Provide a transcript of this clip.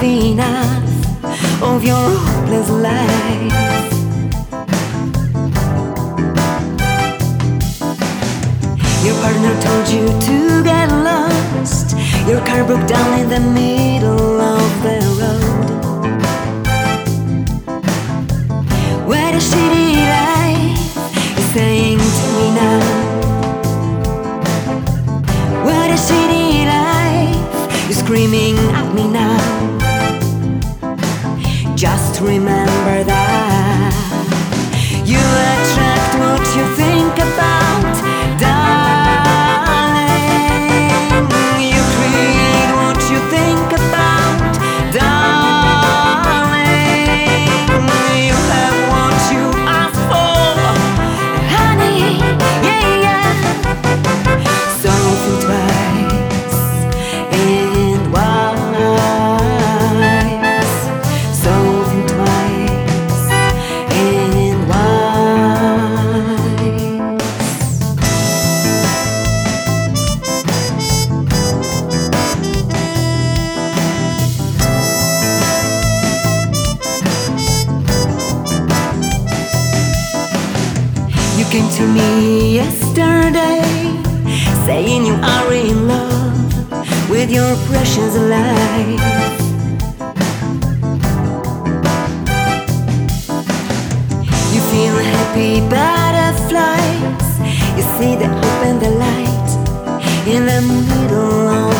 have enough of your hopeless life. Your partner told you to get lost. Your car broke down in the middle of the road. What a shitty life, you're saying to me now. What a shitty life, you're screaming at me now. Just remember that you attract what you think about, darling. You create what you think about, darling. You have what you ask for, honey, yeah, yeah. So think twice and wise. So think twice and wise. You came to me yesterday, saying you are in love with your precious life. You feel happy butterflies. You see the hope and the light in the middle of